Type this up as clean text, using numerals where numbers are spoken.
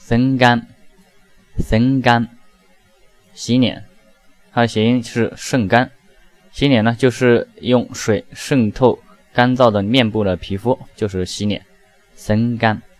生干，生干，洗脸，它的谐音是渗干。洗脸呢，就是用水渗透干燥的面部的皮肤，就是洗脸，生干。